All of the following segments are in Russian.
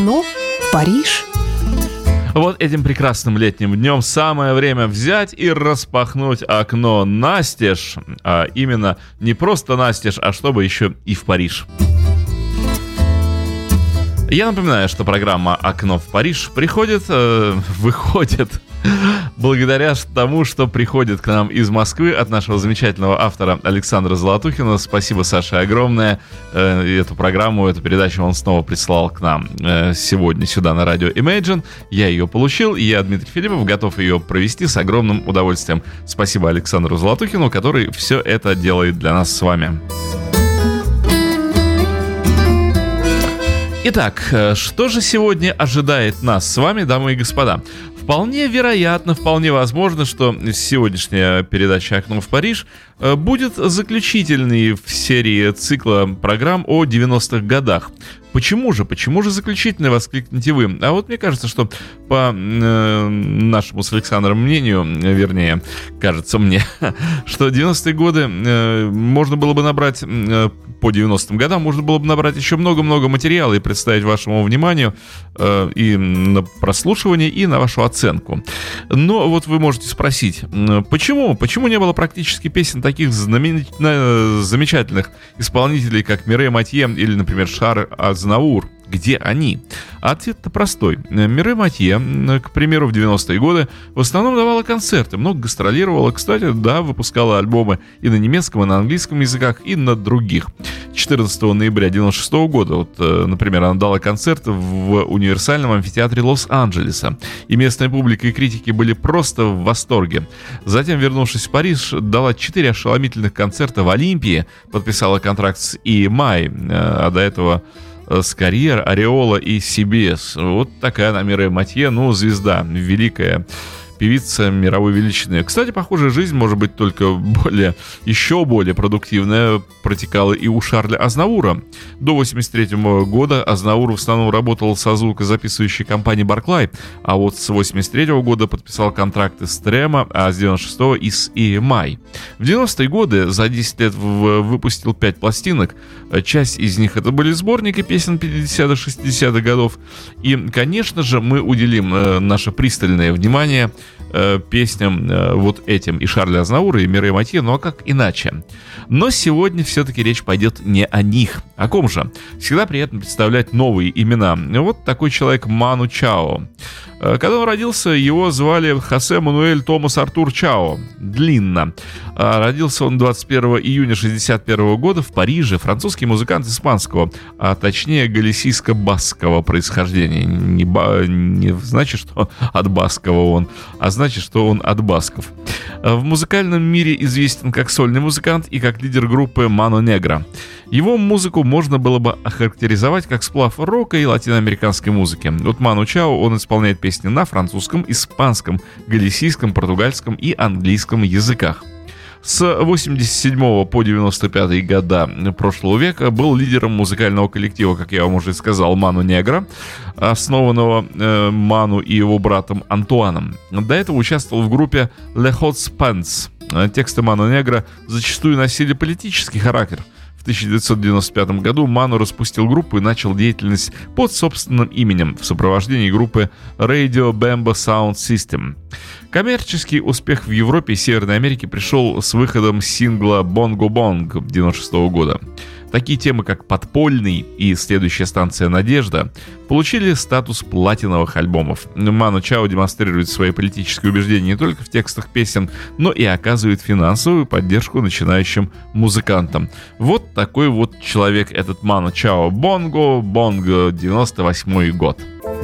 Окно в Париж. Вот этим прекрасным летним днем самое время взять и распахнуть окно настежь. А именно не просто настежь, а чтобы еще и в Париж. Я напоминаю, что программа «Окно в Париж» выходит благодаря тому, что приходит к нам из Москвы от нашего замечательного автора Александра Золотухина. Спасибо, Саше, огромное. Эту программу, эту передачу он снова прислал к нам сегодня сюда на радио Imagine. Я ее получил, и я, Дмитрий Филиппов, готов ее провести с огромным удовольствием. Спасибо Александру Золотухину, который все это делает для нас с вами. Итак, что же сегодня ожидает нас с вами, дамы и господа? Вполне вероятно, вполне возможно, что сегодняшняя передача «Окно в Париж» будет заключительной в серии цикла программ о 90-х годах. Почему же заключительной, воскликните вы? А вот мне кажется, что по нашему с Александром мнению, вернее, кажется мне, что 90-е годы можно было бы набрать, по 90-м годам можно было бы набрать еще много-много материала и представить вашему вниманию и на прослушивание, и на вашу оценку. Но вот вы можете спросить, почему не было практически песен таких замечательных исполнителей, как Мирей Матье или, например, Шарль Азнавур? Где они? Ответ-то простой. Мирей Матье, к примеру, в 90-е годы в основном давала концерты, много гастролировала, кстати, да, выпускала альбомы и на немецком, и на английском языках, и на других. 14 ноября 96 года, вот, например, она дала концерт в Универсальном амфитеатре Лос-Анджелеса, и местная публика и критики были просто в восторге. Затем, вернувшись в Париж, дала 4 ошеломительных концерта в Олимпии, подписала контракт с EMI, а до этого с Карьер, Ореола и CBS. Вот такая она, Мирей Матье, звезда, великая певица мировой величины. Кстати, похожая жизнь, может быть, только еще более продуктивная протекала и у Шарля Азнавура. До 1983 года Азнавур в основном работал со звукозаписывающей компанией Barclay, а вот с 1983 года подписал контракты с Trema, а с 1996 и с EMI. В 90-е годы за 10 лет выпустил 5 пластинок. Часть из них это были сборники песен 50-60-х годов. И, конечно же, мы уделим наше пристальное внимание песням вот этим и Шарля Азнавура, и Мирей Матье, а как иначе? Но сегодня все-таки речь пойдет не о них. О ком же? Всегда приятно представлять новые имена. Вот такой человек Ману Чао. Когда он родился, его звали Хосе Мануэль Томас Артур Чао. Длинно. Родился он 21 июня 1961 года в Париже. Французский музыкант испанского, а точнее галисийско-баскского происхождения. Не значит, что от баскова он, а значит, что он от басков. В музыкальном мире известен как сольный музыкант и как лидер группы Mano Negra. Его музыку можно было бы охарактеризовать как сплав рока и латиноамериканской музыки. Вот Ману Чао, он исполняет песни на французском, испанском, галисийском, португальском и английском языках. С 87 по 95 года прошлого века был лидером музыкального коллектива, как я вам уже сказал, Mano Negra, основанного Ману и его братом Антуаном. До этого участвовал в группе Les Hot Pants. Тексты Mano Negra зачастую носили политический характер. В 1995 году Ману распустил группу и начал деятельность под собственным именем в сопровождении группы Radio Bamba Sound System. Коммерческий успех в Европе и Северной Америке пришел с выходом сингла «Bongo Bong» 1996 года. Такие темы, как «Подпольный» и «Следующая станция Надежда» получили статус платиновых альбомов. Ману Чао демонстрирует свои политические убеждения не только в текстах песен, но и оказывает финансовую поддержку начинающим музыкантам. Вот такой вот человек этот Ману Чао. «Bongo Bong», 98 год.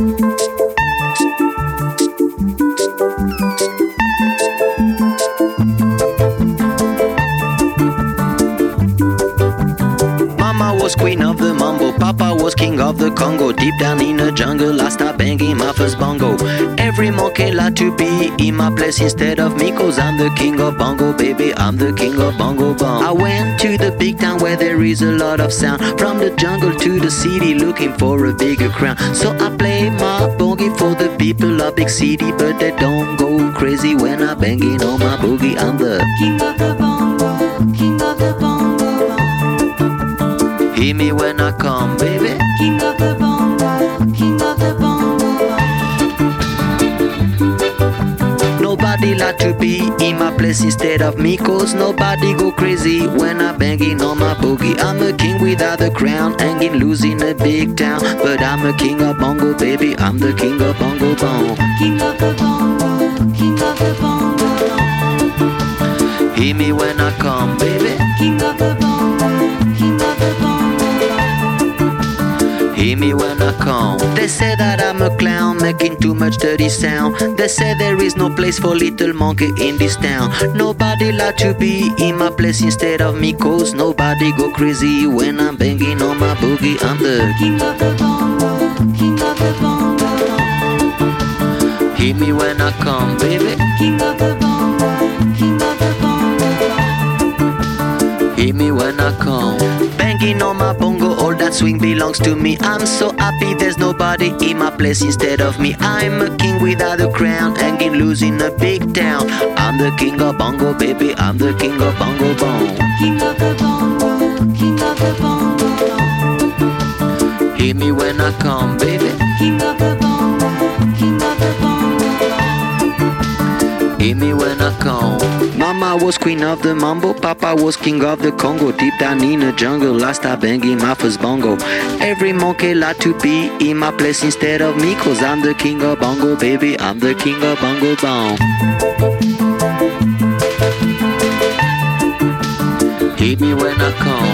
Was queen of the mambo, Papa was king of the Congo. Deep down in the jungle, I start banging my first bongo. Every monkey like to be in my place instead of me, 'cause I'm the king of bongo, baby, I'm the king of bongo bong. I went to the big town where there is a lot of sound. From the jungle to the city, looking for a bigger crown. So I play my boogie for the people of big city, but they don't go crazy when I'm banging on my boogie. I'm the king of the bongo, king of the bongo. Hear me when I come, baby. King of the bongo, king of like to be in my place instead of me, cause nobody go crazy when I'm banging on my boogie. I'm a king without a crown, hanging loose in a big town, but I'm a king of bongo, baby, I'm the king of bongo bong. King of the bongo, king of the bongo. Hear me when I come, baby. King of the bongo, king of the bongo. Hear me when I come. They say that I'm a clown, making too much dirty sound. They say there is no place for little monkey in this town. Nobody like to be in my place instead of me, cause nobody go crazy when I'm banging on my boogie. I'm the king of the bongo, king of the bongo. Hear me when I come, baby. King of the bongo, king of the bongo. Hear me when I come. Banging on my bongo, all that swing belongs to me. I'm so happy there's nobody in my place instead of me. I'm a king without a crown, hanging loose in a big town. I'm the king of bongo, baby, I'm the king of bongo bong. King of the bongo, king of the bongo. Hear me when I come, baby. King of the bongo, king of the bongo. Hear me when I come. Mama was queen of the mambo, Papa was king of the Congo. Deep down in the jungle, I start banging my first bongo. Every monkey like to be in my place instead of me, cause I'm the king of bongo, baby, I'm the king of bongo bong. Hear me when I come.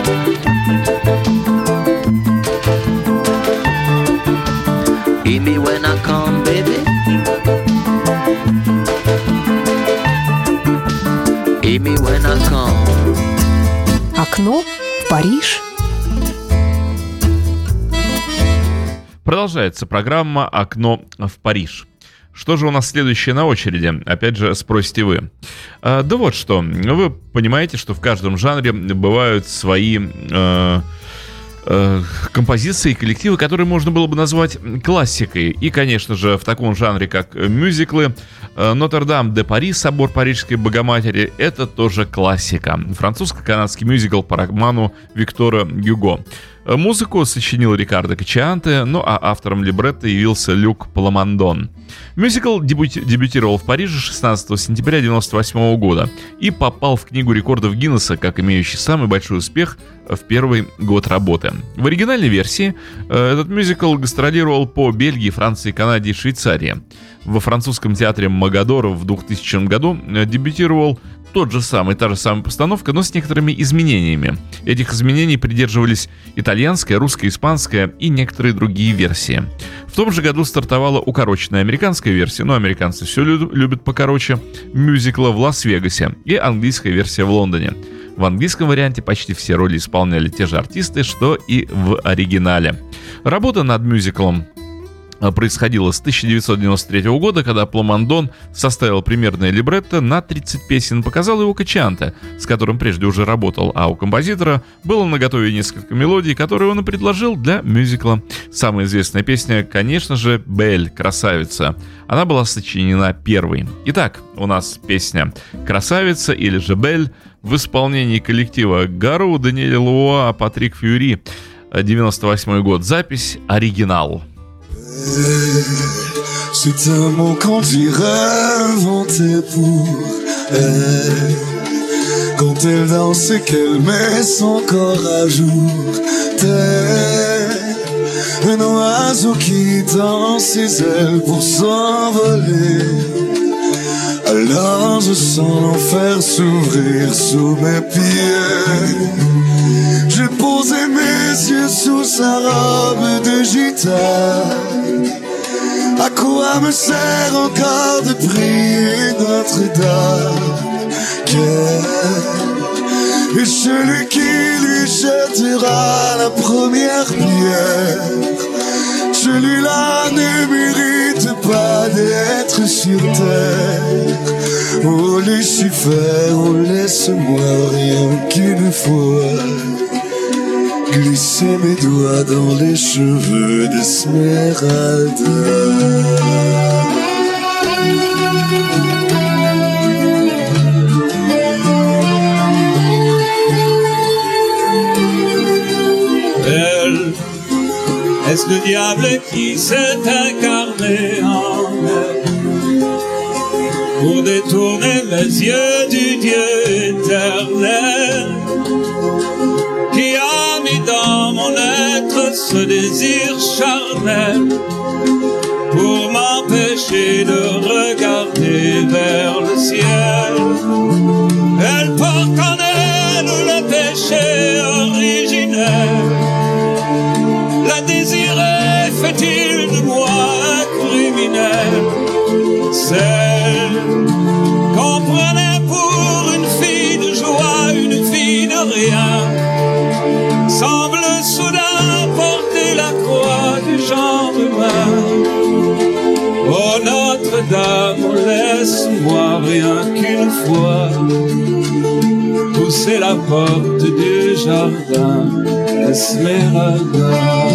Hear me when I come, baby. Hear me when I come. Окно в Париж. Продолжается программа «Окно в Париж». Что же у нас следующее на очереди? Опять же, спросите вы. Да вот что. Вы понимаете, что в каждом жанре бывают свои композиции и коллективы, которые можно было бы назвать классикой. И, конечно же, в таком жанре, как мюзиклы, «Нотр-Дам-де-Пари», «Собор Парижской Богоматери» — это тоже классика. Французско-канадский мюзикл по роману Виктора Гюго. Музыку сочинил Рикардо Качианте, ну а автором либретто явился Люк Пламандон. Мюзикл дебютировал в Париже 16 сентября 1998 года и попал в Книгу рекордов Гиннесса как имеющий самый большой успех в первый год работы. В оригинальной версии этот мюзикл гастролировал по Бельгии, Франции, Канаде и Швейцарии. Во французском театре Магадора в 2000 году дебютировал та же самая постановка, но с некоторыми изменениями. Этих изменений придерживались итальянская, русская, испанская и некоторые другие версии. В том же году стартовала укороченная американская версия, но американцы все любят покороче, мюзикла в Лас-Вегасе и английская версия в Лондоне. В английском варианте почти все роли исполняли те же артисты, что и в оригинале. Работа над мюзиклом происходило с 1993 года, когда Пламандон составил примерное либретто на 30 песен, показал его Качианте, с которым прежде уже работал, а у композитора было наготове несколько мелодий, которые он и предложил для мюзикла. Самая известная песня, конечно же, «Бель», «Красавица». Она была сочинена первой. Итак, у нас песня «Красавица» или же «Бель» в исполнении коллектива Гару, Даниэль Луа, Патрик Фьюри, 98 год. Запись «Оригинал». C'est un mot qu'on dirait inventé pour elle. Quand elle danse et qu'elle met son corps à jour, tel un oiseau qui tend ses ailes pour s'envoler. Alors je sens l'enfer s'ouvrir sous mes pieds. J'ai posé mes yeux sous sa robe de gitane. À quoi me sert encore de prier Notre-Dame? Quel est celui qui lui jettera la première pierre? Celui-là ne mérite pas d'être sur terre. Oh Lucifer, oh laisse-moi rien qu'une fois glisser mes doigts dans les cheveux d'Esmeralda. Elle, est-ce le diable qui s'est incarné en elle pour détourner mes yeux du Dieu éternel qui a mis dans mon être ce désir charnel pour m'empêcher de regarder vers le ciel. Elle porte en elle le péché originel. La désirer fait-il de moi un criminel? Celle qu'on prenait pour une fille de joie, une fille de rien, semble soudain porter la croix du genre humain. Oh Notre-Dame, laisse-moi rien qu'une fois pousser la porte du jardin Esmeralda.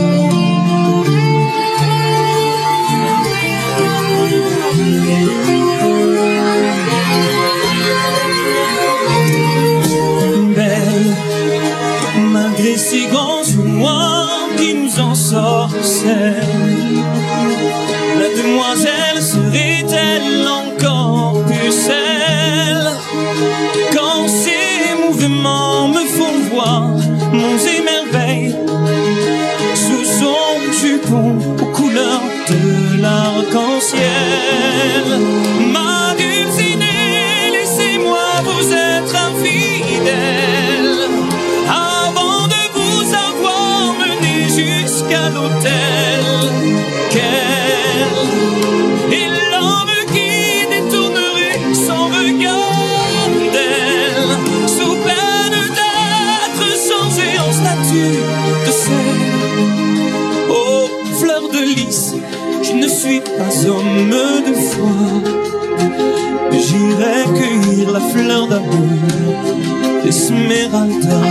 Belle, malgré ces grands noirs qui nous ensorcellent, la demoiselle serait-elle encore pucelle quand ses mouvements me font voir monts et merveilles sous son jupon aux couleurs de l'arc-en-ciel? Ma dulcinée, laissez-moi vous être infidèle avant de vous avoir mené jusqu'à l'autel. Et l'homme qui détournerait son regard d'elle, sous peine d'être changé en statue de sel. Oh, fleur de lys, je ne suis pas homme de foi. J'irai cueillir la fleur d'amour d'Esmeralda.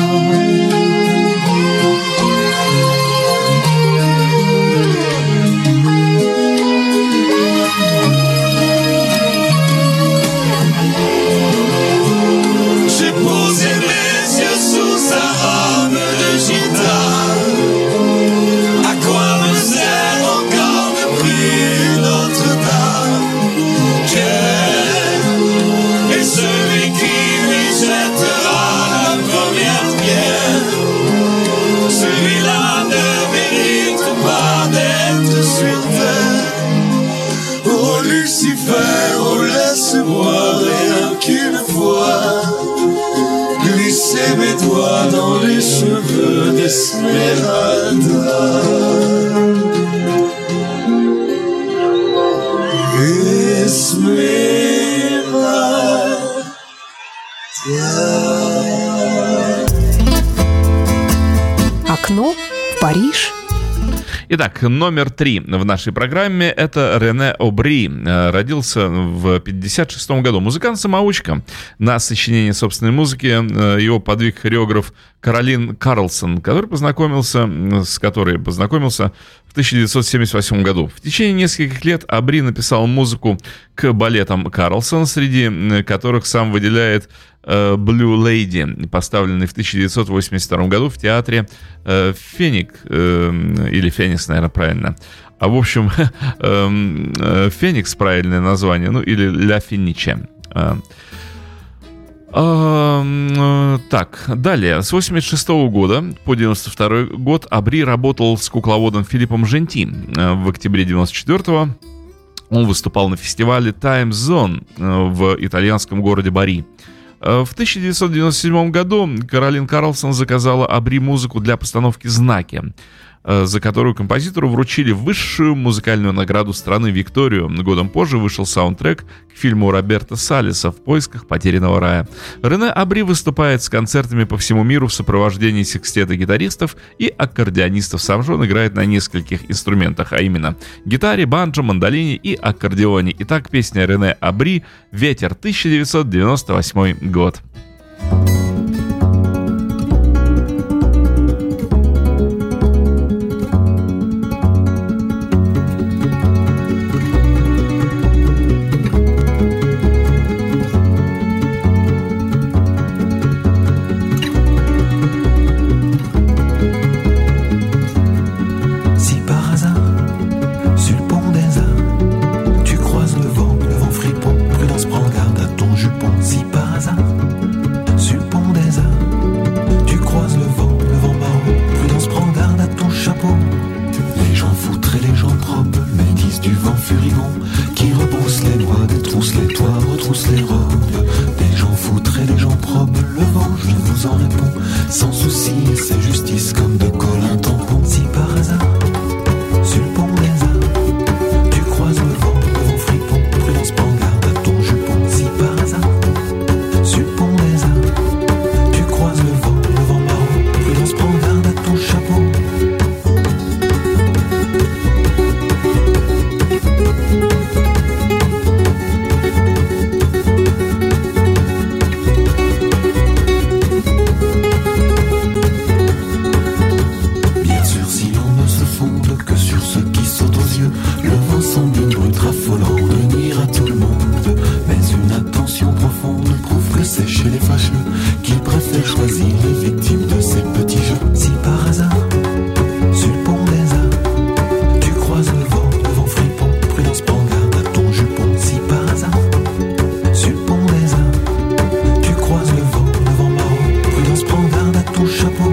J'ai posé mes yeux sous sa robe de gitane. À quoi me sert encore de prier Notre-Dame? Quel est celui qui lui jettera la première pierre? Celui-là ne mérite pas d'être sur terre. Oh Lucifer, oh laisse-moi rien qu'une fois glisser mes doigts dans les cheveux d'Esmeralda. Esmeralda. Окно в Париж. Итак, номер 3 в нашей программе — это Рене Обри. Родился в 1956 году. Музыкант-самоучка. На сочинение собственной музыки его подвиг хореограф Каролин Карлсон, с которой познакомился в 1978 году. В течение нескольких лет Обри написал музыку к балетам Карлсон, среди которых сам выделяет Blue Lady, поставленный в 1982 году в театре Феник, или Феникс, наверное, правильно. А в общем, Феникс — правильное название, ну или Ля Финиче. Так, далее. С 1986 года по 1992 год Обри работал с кукловодом Филиппом Женти. В октябре 1994 он выступал на фестивале Time Zone в итальянском городе Бари. В 1997 году Каролин Карлсон заказала Обри музыку для постановки «Знаки», за которую композитору вручили высшую музыкальную награду страны Викторию. Годом позже вышел саундтрек к фильму Роберто Салеса «В поисках потерянного рая». Рене Обри выступает с концертами по всему миру в сопровождении секстета гитаристов и аккордеонистов. Сам же он играет на нескольких инструментах, а именно гитаре, банджо, мандолине и аккордеоне. Итак, песня Рене Обри «Ветер», 1998 год. Prends brise du vent furibond qui rebrousse les bois, détrousse les toits, retrousse les robes. Des gens foutres et des gens probes, le vent, je vous en réponds. Sans souci, c'est justice comme de colle un tampon. Si par hasard, sur le pont des arts, tu croises le vent fripon, prudence, prends garde à ton jupon. Si par hasard, sur le pont des arts, tu croises le vent marron, prudence, prends garde à ton chapeau. Bien sûr, si l'on ne se fonde que sur ce qui saute aux yeux, le vent semble une brute raffolant de nuire à tout le monde. Mais une attention profonde prouve que c'est chez les fâcheux qu'ils préfèrent choisir les victimes de ces petits jeux. Si par hasard, sur le pont des arts, tu croises le vent fripon, prudence, prends garde à ton jupon. Si par hasard, sur le pont des arts, tu croises le vent marron, prudence, prends garde à ton chapeau.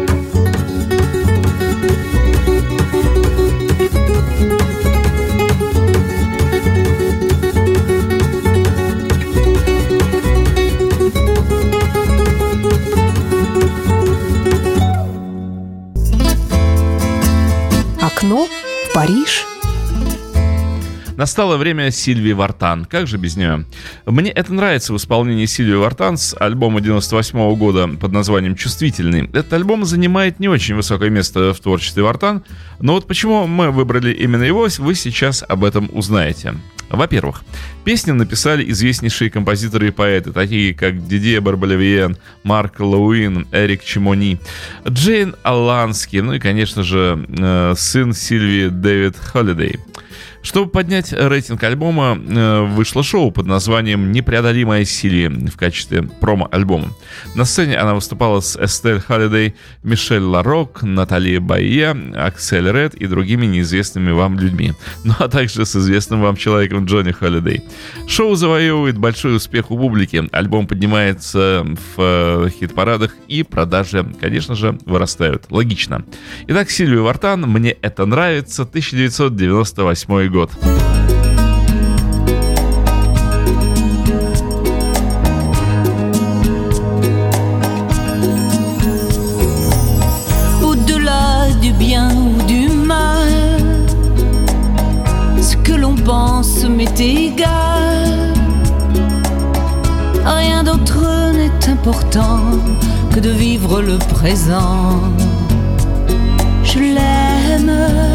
Окно в Париж. Настало время Сильвии Вартан. Как же без нее? Мне это нравится в исполнении Сильвии Вартан с альбома 98 года под названием «Чувствительный». Этот альбом занимает не очень высокое место в творчестве Вартан, но вот почему мы выбрали именно его, вы сейчас об этом узнаете. Во-первых, песни написали известнейшие композиторы и поэты, такие как Дидье Барбалевьен, Марк Лауин, Эрик Чимони, Джейн Алланский, ну и, конечно же, сын Сильвии Дэвид Холлидей. Чтобы поднять рейтинг альбома, вышло шоу под названием «Непреодолимая Сильвия» в качестве промо-альбома. На сцене она выступала с Эстель Холлидей, Мишель Ларок, Натали Байе, Аксель Ред и другими неизвестными вам людьми. Ну а также с известным вам человеком Джонни Холлидей. Шоу завоевывает большой успех у публики. Альбом поднимается в хит-парадах и продажи, конечно же, вырастают. Логично. Итак, Сильвия Вартан, «Мне это нравится», 1998 год. Au-delà du bien ou du mal, ce que l'on pense m'est égal. Rien d'autre n'est important que de vivre le présent. Je l'aime.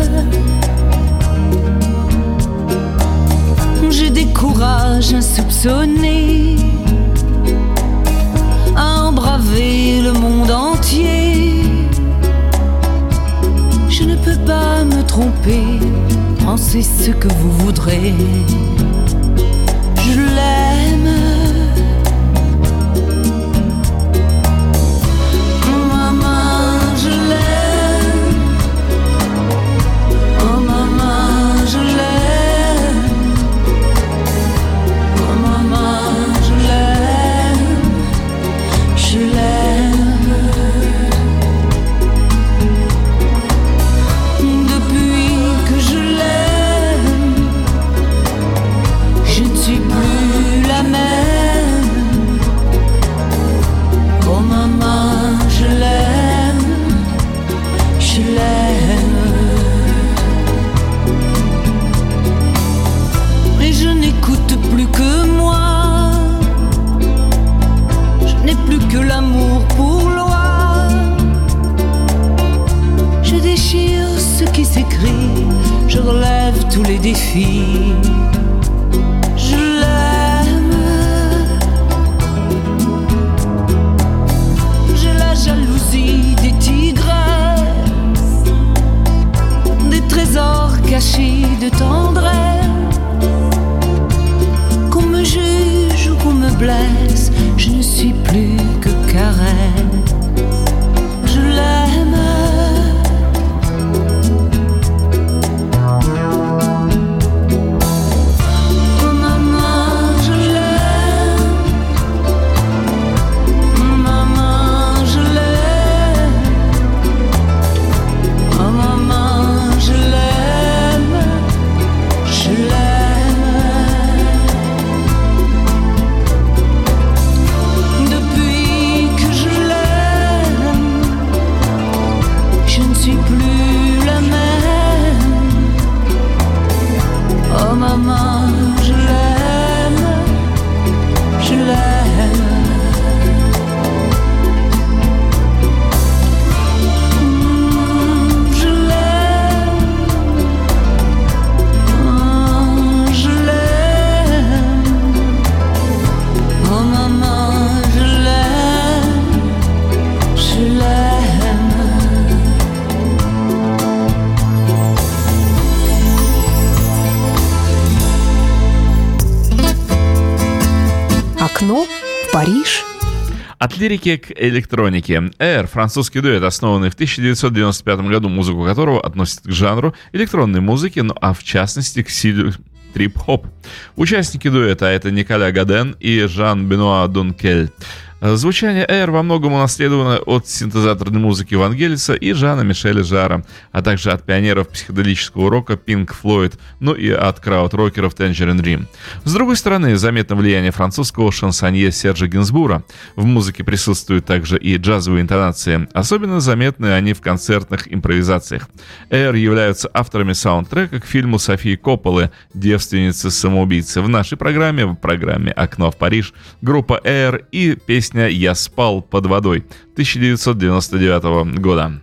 J'ai des courages insoupçonnés à embraver le monde entier. Je ne peux pas me tromper, pensez ce que vous voudrez. Je l'aime. Oh maman, je l'aime. Oh maman, je l'aime. Je relève tous les défis. Je l'aime. J'ai la jalousie des tigresses, des trésors cachés de tendresse. Qu'on me juge ou qu'on me blesse, je ne suis plus que caresse. Je l'aime. Окно в Париж. От лирики к электронике. Air — французский дуэт, основанный в 1995 году, музыку которого относят к жанру электронной музыки, ну а в частности к стилю трип-хоп. Участники дуэта — это Николя Гаден и Жан-Бенуа Дункель. Звучание Air во многом унаследовано от синтезаторной музыки Вангелиса и Жана Мишеля Жара, а также от пионеров психоделического рока Pink Floyd, ну и от крауд-рокеров Tangerine Dream. С другой стороны, заметно влияние французского шансонье Сержа Гинсбура. В музыке присутствуют также и джазовые интонации, особенно заметны они в концертных импровизациях. Air являются авторами саундтрека к фильму Софии Копполы «Девственница-самоубийца». В нашей программе, в программе «Окно в Париж», группа Air и песня «Я спал под водой» 1999 года.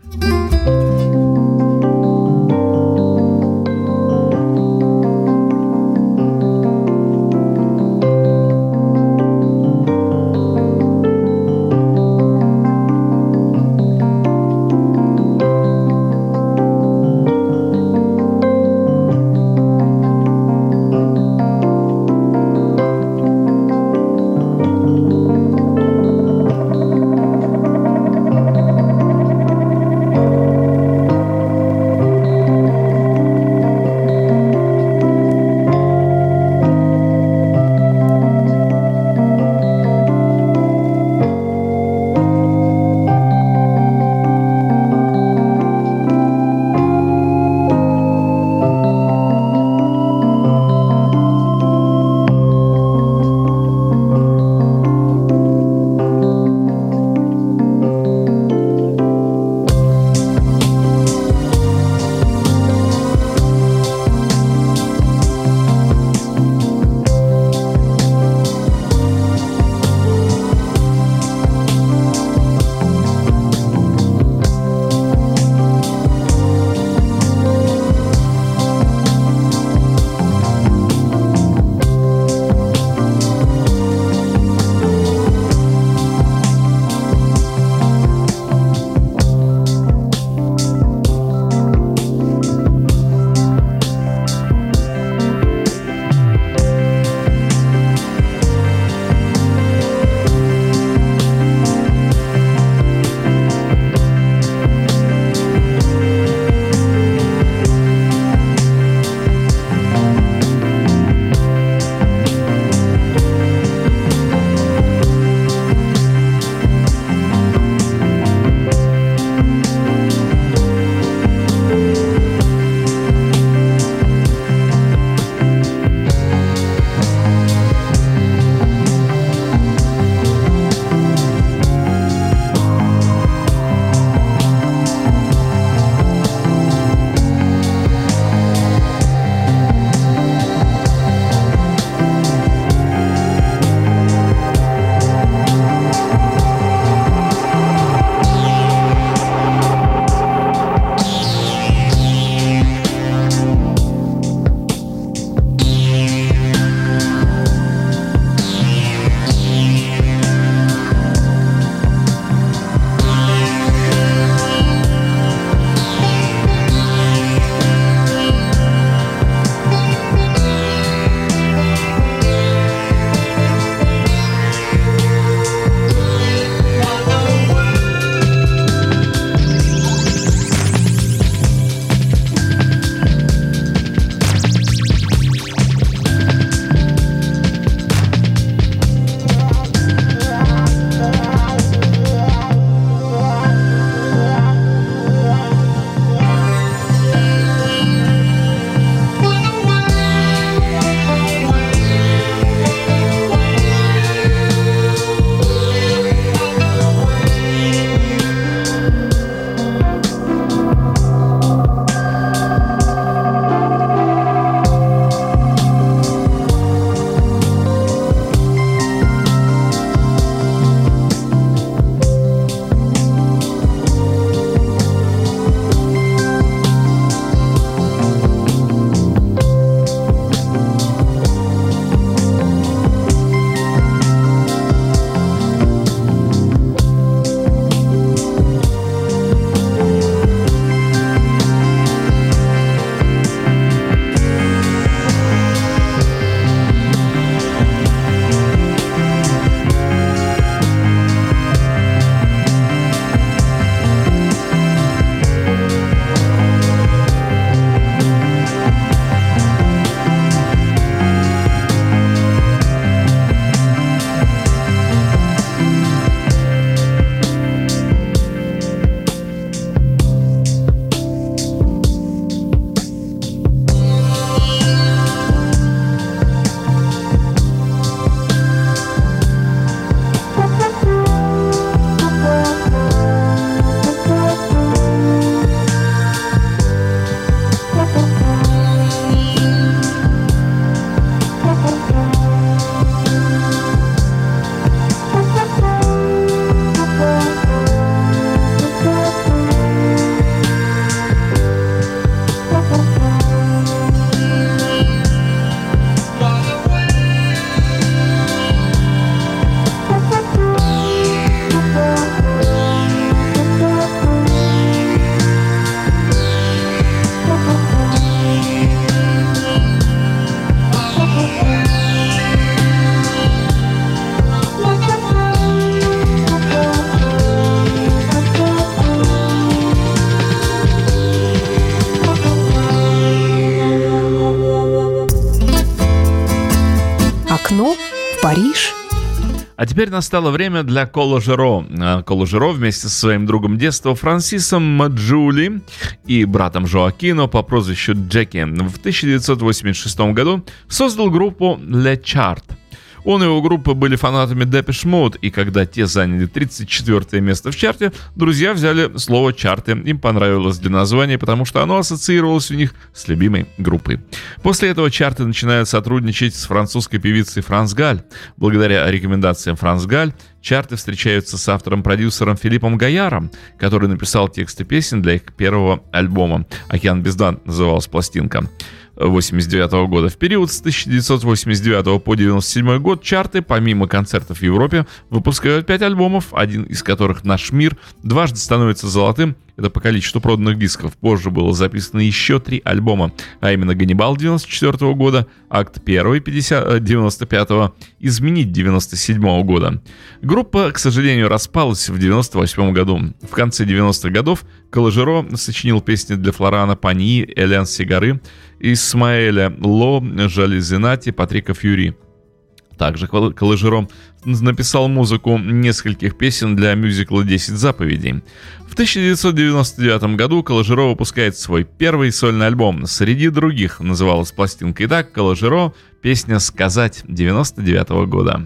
Окно в Париж. А теперь настало время для Кола Жиро. Кола Жиро вместе со своим другом детства Франсисом Маджули и братом Жоакино по прозвищу Джеки в 1986 году создал группу Le Chart. Он и его группа были фанатами Depeche Mode, и когда те заняли 34 место в чарте, друзья взяли слово «чарты». Им понравилось для названия, потому что оно ассоциировалось у них с любимой группой. После этого чарты начинают сотрудничать с французской певицей Франс Галь. Благодаря рекомендациям Франс Галь, чарты встречаются с автором-продюсером Филиппом Гаяром, который написал тексты песен для их первого альбома. «Океан без дна» называлась пластинка. 1989 года. В период с 1989 по 1997 год чарты, помимо концертов в Европе, выпускают 5 альбомов, один из которых «Наш мир» дважды становится золотым. Это по количеству проданных дисков. Позже было записано еще 3 альбома, а именно «Ганнибал» 1994 года, «Акт 1» 1995, «Изменить» 1997 года. Группа, к сожалению, распалась в 1998 году. В конце 90-х годов Кола Жиро сочинил песни для Флорана Паньи, Элен Сигары, Исмаэля Ло, Жали Зенати, Патрика Фьюри. Также Кола Жиро написал музыку нескольких песен для мюзикла «10 заповедей». В 1999 году Кола Жиро выпускает свой первый сольный альбом. Среди других называлась пластинка и так Кола Жиро, песня «Сказать» 1999 года.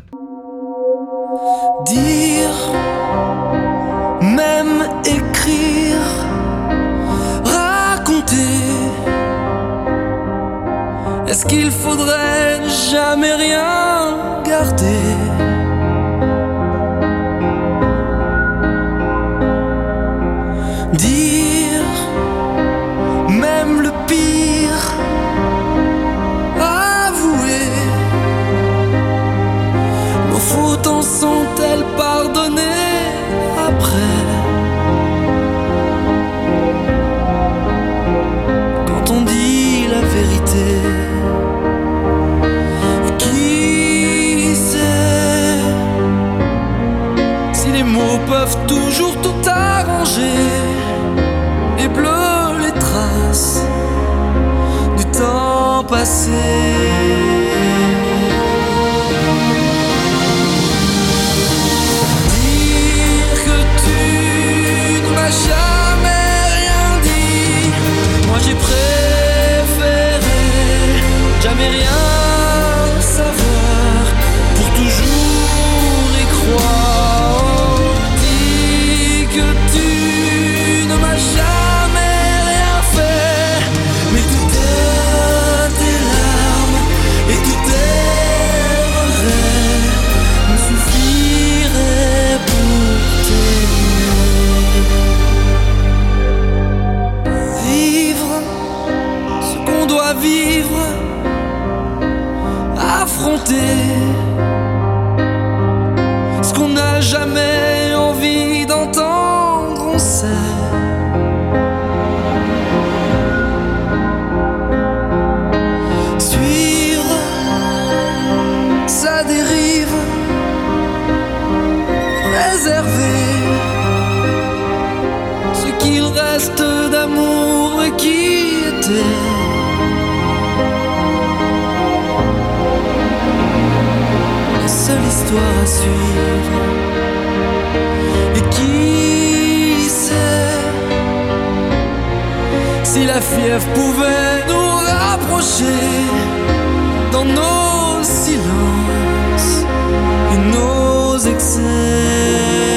Dire, même écrire, raconter. Est-ce qu'il faudrait jamais rien garder? Dire, même le pire, avouer. Nos fautes en sont-elles pardonnées après? Quand on dit la vérité, qui sait si les mots peuvent toujours tout arranger? Les bleus, les traces du temps passé. Dire que tu ne m'as jamais rien dit, moi j'ai préféré jamais rien savoir pour toujours y croire. Dis que tu ne m'as jamais rien fait, mais toutes tes larmes et tous tes regrets me suffiraient pour t'aimer. Vivre ce qu'on doit vivre, affronter ce qu'on n'a jamais envie d'entendre, on sait. Suivre sa dérive, préserver ce qu'il reste d'amour et qui était. La seule histoire à suivre. Et qui sait si la fièvre pouvait nous rapprocher dans nos silences et nos excès.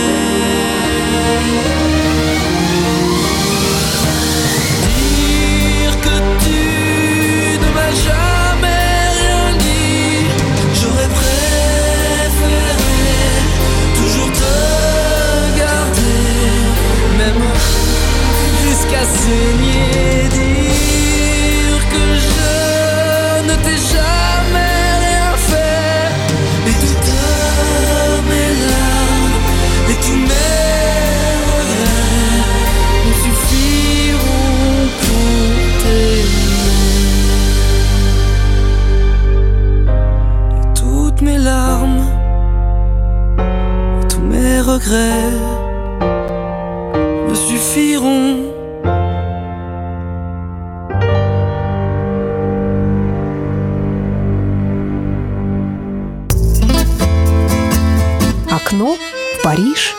Dire que tu ne m'as jamais rien dit, j'aurais préféré toujours te garder, même jusqu'à saigner. Dire que je ne t'ai jamais rien fait, et toutes mes larmes et tous mes regrets me suffiront pour t'aimer. Et toutes mes larmes et tous mes regrets me suffiront. Окно в Париж.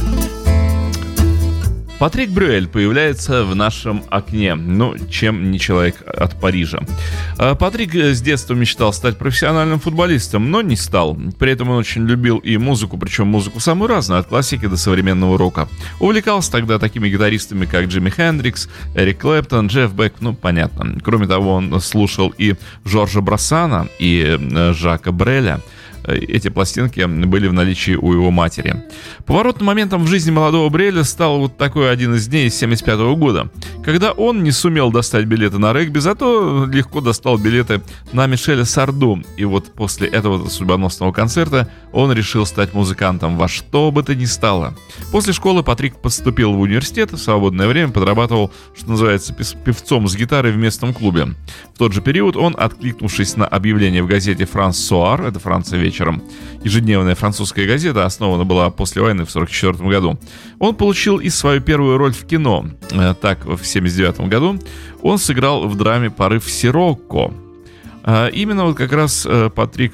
Патрик Брюэль появляется в нашем окне. Ну, чем не человек от Парижа. Патрик с детства мечтал стать профессиональным футболистом, но не стал. При этом он очень любил и музыку, причем музыку самую разную, от классики до современного рока. Увлекался тогда такими гитаристами, как Джимми Хендрикс, Эрик Клэптон, Джефф Бек, ну, понятно. Кроме того, он слушал и Жоржа Брассана, и Жака Бреля. Эти пластинки были в наличии у его матери. Поворотным моментом в жизни молодого Бреля стал вот такой один из дней 1975 года, когда он не сумел достать билеты на регби, зато легко достал билеты на Мишеля Сарду. И вот после этого судьбоносного концерта он решил стать музыкантом во что бы то ни стало. После школы Патрик поступил в университет, в свободное время подрабатывал, что называется, певцом с гитарой в местном клубе. В тот же период он, откликнувшись на объявление в газете «Франс Соар», это Франция вечером, ежедневная французская газета, основана была после войны в 1944 году, он получил и свою первую роль в кино. Так, в 1979 году он сыграл в драме «Порыв Сирокко». Именно вот как раз Патрик,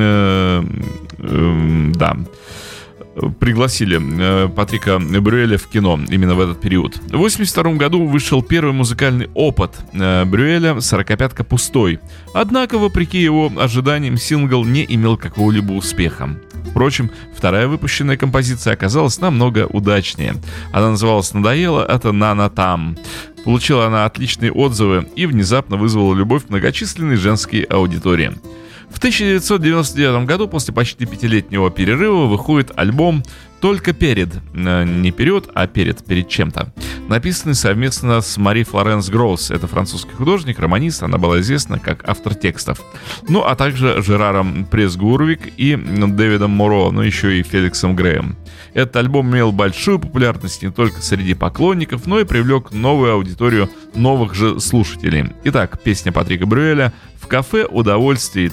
пригласили Патрика Брюэля в кино именно в этот период. В 1982 году вышел первый музыкальный опыт Брюэля «Сорокопятка пустой». Однако, вопреки его ожиданиям, сингл не имел какого-либо успеха. Впрочем, вторая выпущенная композиция оказалась намного удачнее. Она называлась «Надоело» от «Нана Там». Получила она отличные отзывы и внезапно вызвала любовь многочисленной женской аудитории. В 1999 году, после почти 5-летнего перерыва, выходит альбом «Только перед», не вперед, а перед чем-то, написанный совместно с Мари Флоренс Гросс. Это французский художник, романист, она была известна как автор текстов. Ну, а также Жераром Пресс-Гурвик и Дэвидом Моро, ну, еще и Феликсом Греем. Этот альбом имел большую популярность не только среди поклонников, но и привлек новую аудиторию новых же слушателей. Итак, песня Патрика Брюэля «В кафе удовольствий»,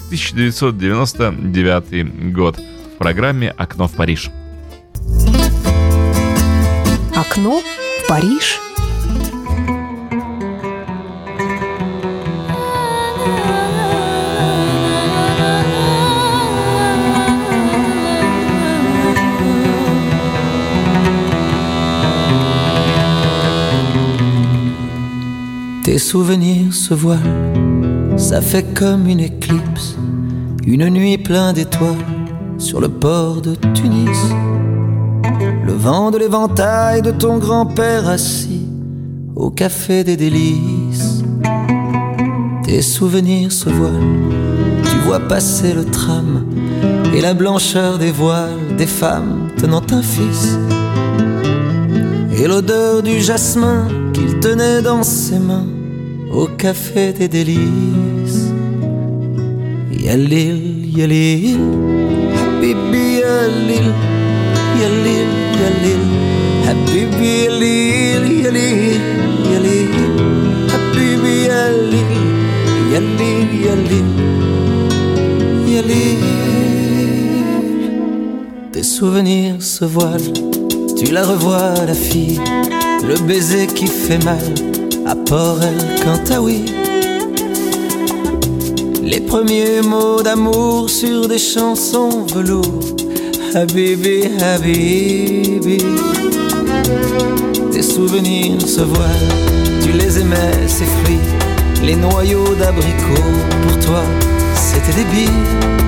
1999 год, в программе «Окно в Париж». Окно в Париж. Tes souvenirs se voilent, ça fait comme une éclipse, une nuit pleine d'étoiles sur le port de Tunis. Le vent de l'éventail de ton grand-père assis au café des délices. Tes souvenirs se voilent, tu vois passer le tram et la blancheur des voiles des femmes tenant un fils. Et l'odeur du jasmin qu'il tenait dans ses mains au café des délices. Yalil, yalil, habibi yalil, yalil, yalil, habibi yalil, yalil, yalil, habibi yalil, yalil, yalil, yalil. Tes souvenirs se voilent, tu la revois la fille, le baiser qui fait mal à Port El Kantaoui. Les premiers mots d'amour sur des chansons velours. Habibi, Habibi. Tes souvenirs se voilent, tu les aimais, ces fruits, les noyaux d'abricots, pour toi, c'était des billes.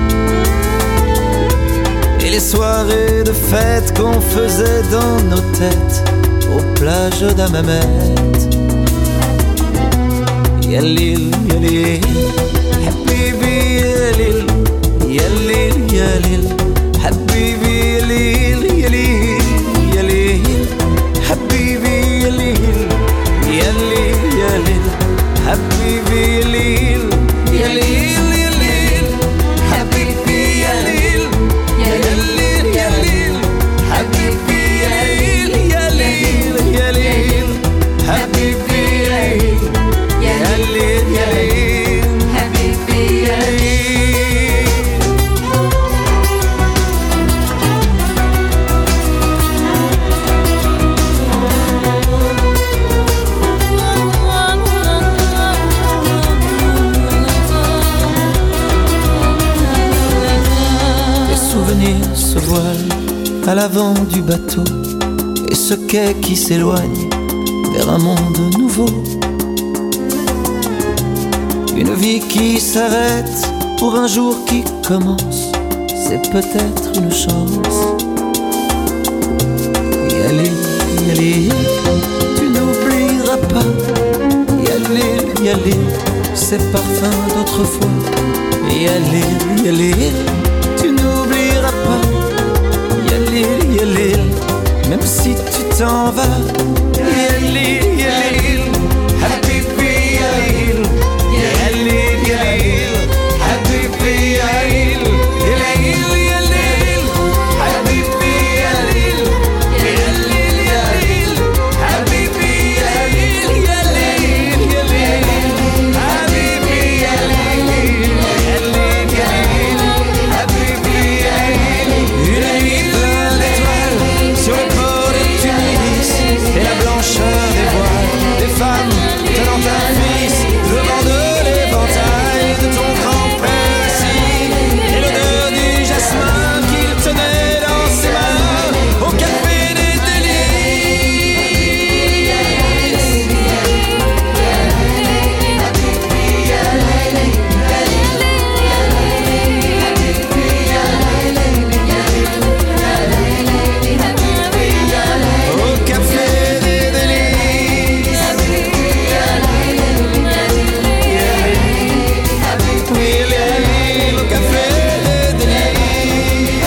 Et les soirées de fête qu'on faisait dans nos têtes aux plages d'Hammamet. Yalil, yalil, habibi yalil, yalil, yalil, habibi yalil, yalil, yalil, habibi yalil, yalil, yalil, habibi yalil, yalil, yalil, habibi yalil, yalil, yalil, habibi yalil, yalil, yalil, habibi yalil. Yalil, yalil, habibi yalil. Tes souvenirs se voilent, à l'avant du bateau, et ce quai qui s'éloigne vers un monde nouveau. Une vie qui s'arrête pour un jour qui commence, c'est peut-être une chance. Yalé, yalé, tu n'oublieras pas. Yalé, yalé, ces parfums d'autrefois. Yalé, yalé, tu n'oublieras pas. Yalé, yalé, même si tu t'en vas. Yalé, yalé, habibi yalé, yalé, yalé, habibi yalé, yalé, yalé, habibi yalé, yalé, yalé, habibi yalé, yalé, yalé, habibi yalé, yalé, yalé, habibi yalé. Une nuit pleine d'étoiles sur le port de Tunis, et la blancheur des voiles des femmes tenant un fils, le vent de l'éventail de ton grand-père assis, et l'odeur du jasmin qu'il tenait dans ses mains au café des Au café des délices. Oui, au café des délices.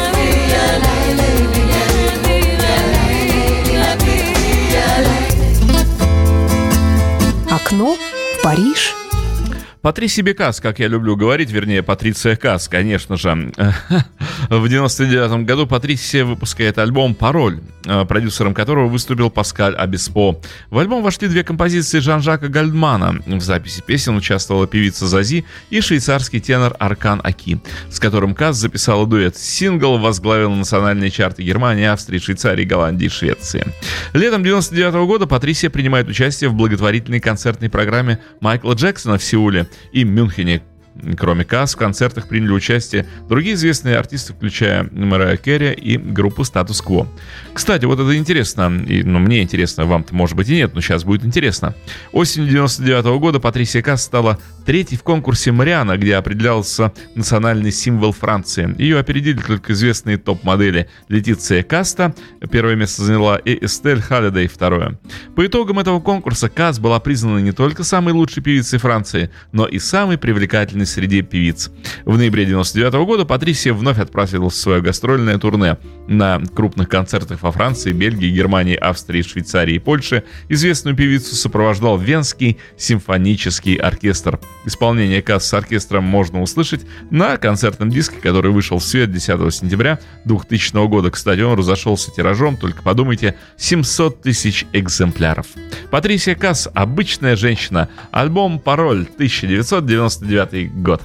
Окно в Париж. Патриси Бекас, как я люблю говорить, вернее, Патриция Кас, конечно же. В 1999 году Патрисия выпускает альбом «Пароль», продюсером которого выступил Паскаль Обеспо. В альбом вошли две композиции Жан-Жака Гальдмана. В записи песен участвовала певица Зази и швейцарский тенор Аркан Аки, с которым Кас записала дуэт. Сингл возглавил национальные чарты Германии, Австрии, Швейцарии, Голландии и Швеции. Летом 1999 года Патрисия принимает участие в благотворительной концертной программе Майкла Джексона в Сеуле и Мюнхене. Кроме Кас, в концертах приняли участие другие известные артисты, включая Мэрайю Кэрри и группу Статус Кво. Кстати, вот это интересно, мне интересно, вам-то может быть и нет, но сейчас будет интересно. Осенью 1999 года Патрисия Кас стала третьей в конкурсе «Мариана», где определялся национальный символ Франции. Ее опередили только известные топ-модели Летиция Каста, первое место заняла, и Эстель Халлидей второе. По итогам этого конкурса Кас была признана не только самой лучшей певицей Франции, но и самой привлекательной среди певиц. В ноябре 1999 года Патрисия вновь отправилась в свое гастрольное турне. На крупных концертах во Франции, Бельгии, Германии, Австрии, Швейцарии и Польше известную певицу сопровождал Венский симфонический оркестр. Исполнение Кас с оркестром можно услышать на концертном диске, который вышел в свет 10 сентября 2000 года. Кстати, он разошелся тиражом, только подумайте, 700 тысяч экземпляров. Патрисия Кас «Обычная женщина». Альбом «Пароль», 1999 год.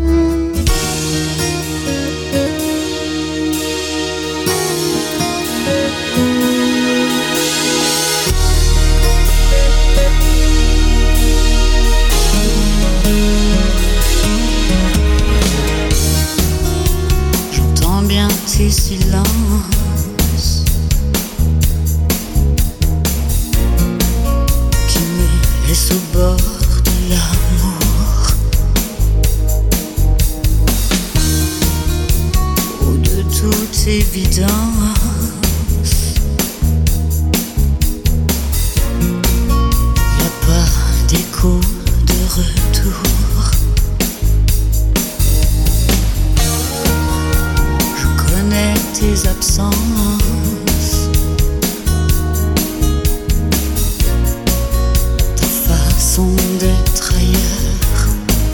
J'entends bien tes silences qui me laissent au bord de l'amour. Ou de toute évidence, y a pas d'écho de retour. Je connais tes absences, ta façon d'être ailleurs.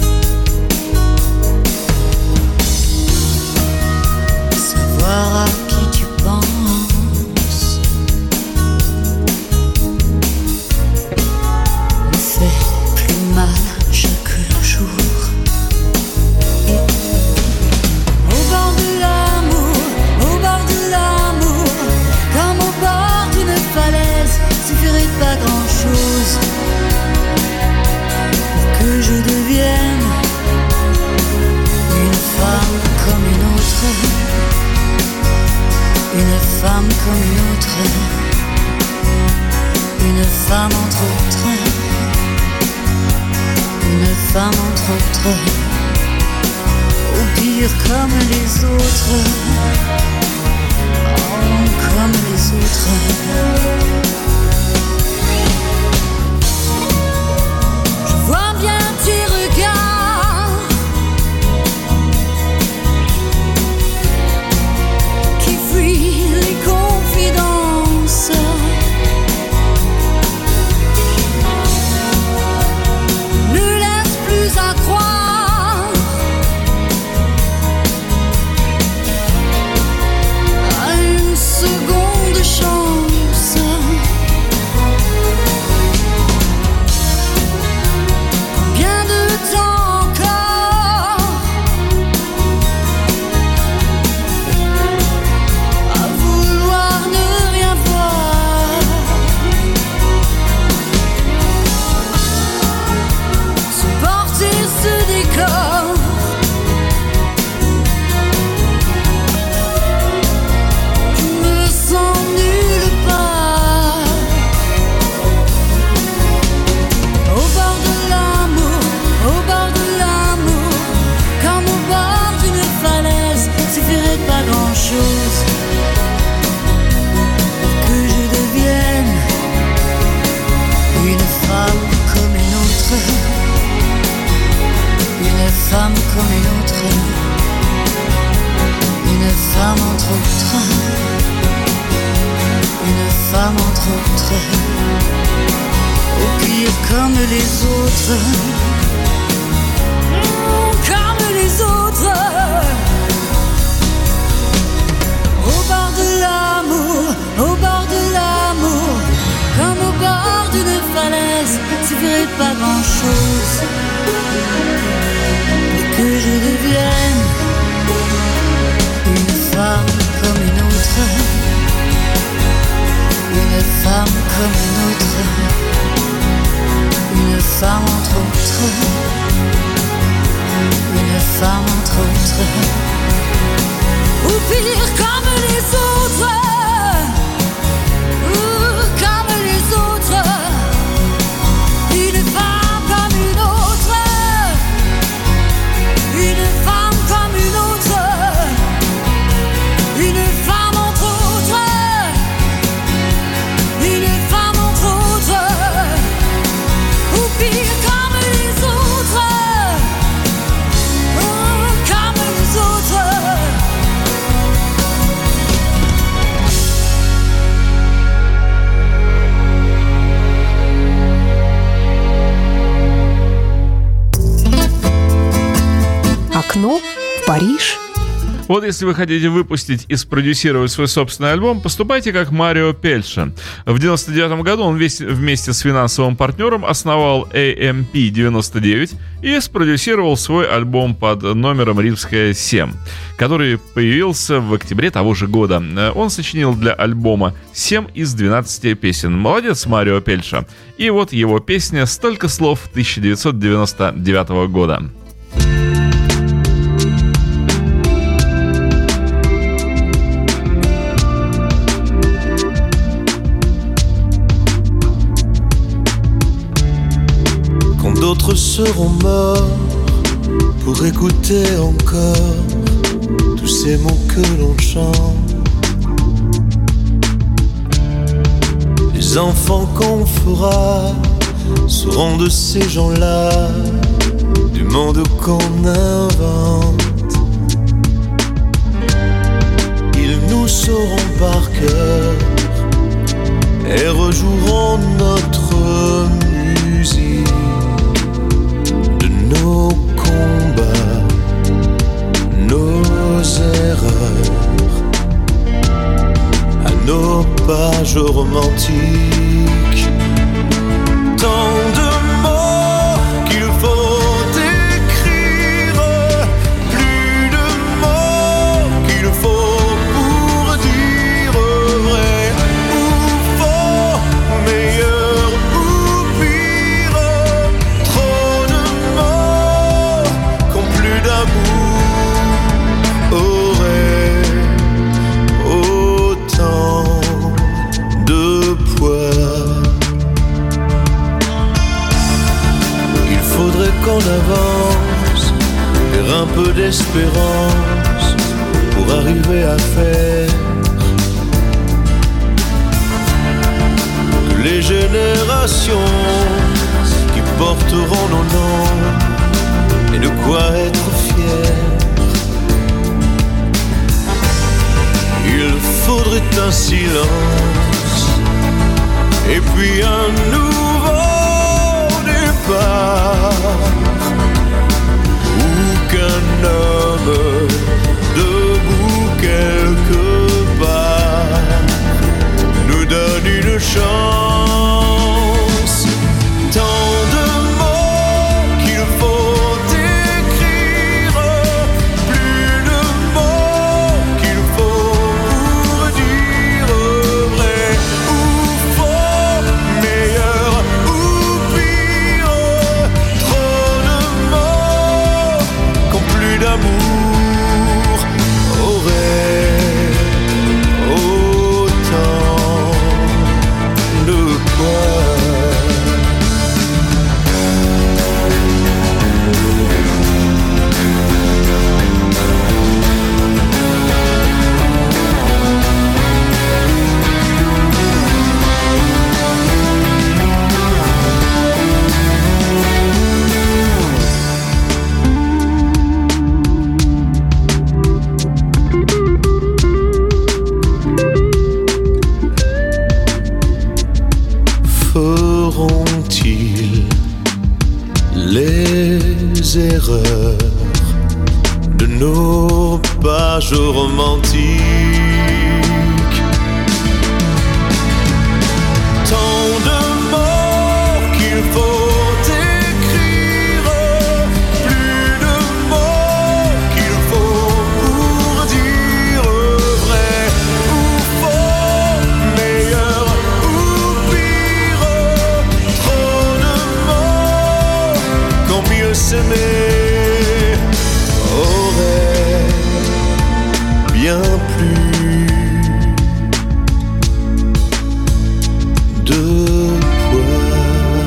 Savoir à qui tu penses me fait plus mal chaque jour. Au bord de l'amour, au bord de l'amour. autre, au pire comme les autres, oh, comme les autres. Je vois bien tes regards qui fuient les confidences. À croire à une seconde chance. Combien de temps encore à vouloir ne rien voir, supporter ce décor. Je me sens nulle part. Au bord de l'amour, au bord de l'amour, comme au bord d'une falaise, suffirait pas grand-chose que je devienne une femme comme une autre. Une femme comme une autre, une femme entre autres, une femme entre autres, au pire comme les autres, comme les autres. Au bord de l'amour, au bord de l'amour, comme au bord d'une falaise, suffirait pas grand-chose que je devienne une femme comme une autre, une femme comme une autre, une femme entre autres, une femme entre autres, ou pire comme les autres, comme les autres, une femme comme une autre. Une femme comme une autre, une femme entre autres, une femme entre autres, ou pire comme les autres, comme les autres. Окно в Париж. Вот если вы хотите выпустить и спродюсировать свой собственный альбом, поступайте как Марио Пельша. В 1999 году он вместе с финансовым партнером основал AMP-99 и спродюсировал свой альбом под номером «Римская 7», который появился в октябре того же года. Он сочинил для альбома 7 из 12 песен. Молодец, Марио Пельша. И вот его песня «Столько слов» 1999 года. D'autres seront morts pour écouter encore tous ces mots que l'on chante. Les enfants qu'on fera seront de ces gens-là, du monde qu'on invente. Ils nous sauront par cœur et rejoueront notre musique. Nos combats, nos erreurs, à nos pages romantiques. Tant de mots qu'il faut écrire, plus de mots qu'il faut pour dire vrai ou faux, meilleur ou pire. Trop de mots qu'ont plus d'amour auraient autant de poids. l'espérance pour arriver à faire que les générations qui porteront nos noms aient de quoi être fiers. Il faudrait un silence et puis un nouveau départ, ou qu'un homme debout quelque part nous donne une chance. Tant de mots qu'il faut écrire, plus de mots qu'il faut pour dire vrai ou faux, meilleur ou pire. Trop de mots qu'ont plus d'amour auraient autant de quoi. Feront-ils les erreurs de nos pages romantiques? Tant de mots qu'il faut écrire, plus de mots qu'il faut pour dire vrai ou faux, meilleur ou pire. Trop de mots quand mieux s'aimer aurait bien plus de poids.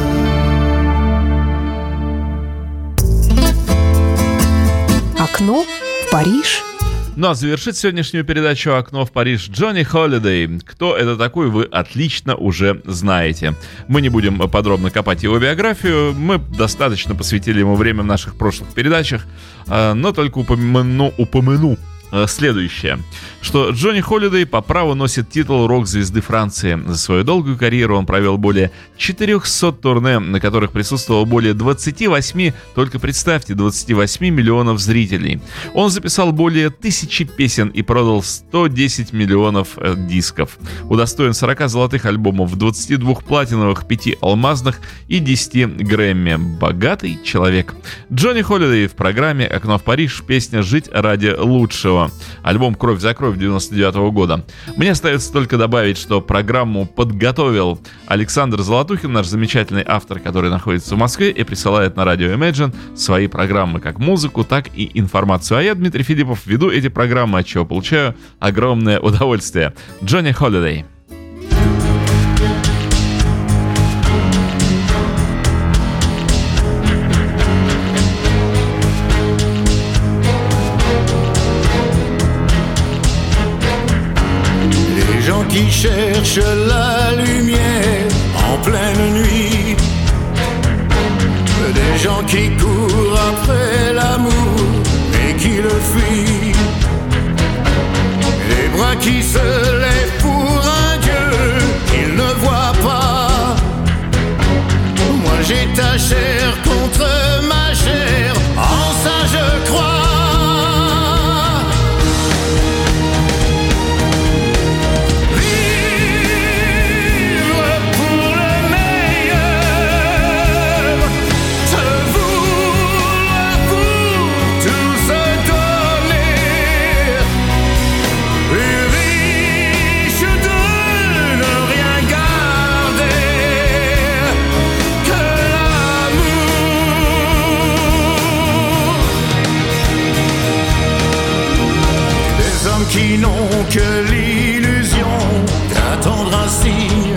Окно в Париж. Ну а завершит сегодняшнюю передачу «Окно в Париж» Джонни Холидей. Кто это такой, вы отлично уже знаете. Мы не будем подробно копать его биографию, мы достаточно посвятили ему время в наших прошлых передачах, но только упомяну следующее, что Джонни Холидей по праву носит титул рок-звезды Франции. За свою долгую карьеру он провел более 400 турне, на которых присутствовало более 28, только представьте, 28 миллионов зрителей. Он записал более 1000 песен и продал 110 миллионов дисков. Удостоен 40 золотых альбомов, 22 платиновых, 5 алмазных и 10 Грэмми. Богатый человек. Джонни Холидей в программе «Окно в Париж», песня «Жить ради лучшего». Альбом «Кровь за кровь» 99 года. Мне остается только добавить, что программу подготовил Александр Золотухин, наш замечательный автор, который находится в Москве и присылает на радио Imagine свои программы, как музыку, так и информацию. А я, Дмитрий Филиппов, веду эти программы, от чего получаю огромное удовольствие. Джонни Холидей. Qui cherchent la lumière en pleine nuit, des gens qui courent après l'amour et qui le fuient, les bras qui se lèvent pour un Dieu qu'ils ne voient pas. Moi j'ai ta chair contre ma chair, en ça je crois. Qui n'ont que l'illusion d'attendre un signe